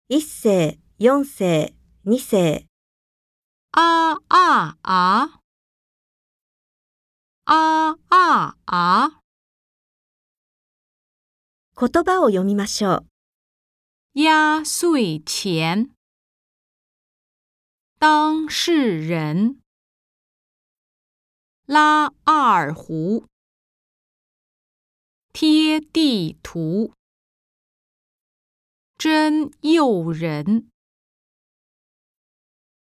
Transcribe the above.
1世、4世、2世。 啊啊啊！啊啊啊！ 言葉を読みましょう。 压岁钱，当事人，拉二胡，贴地图，真诱人。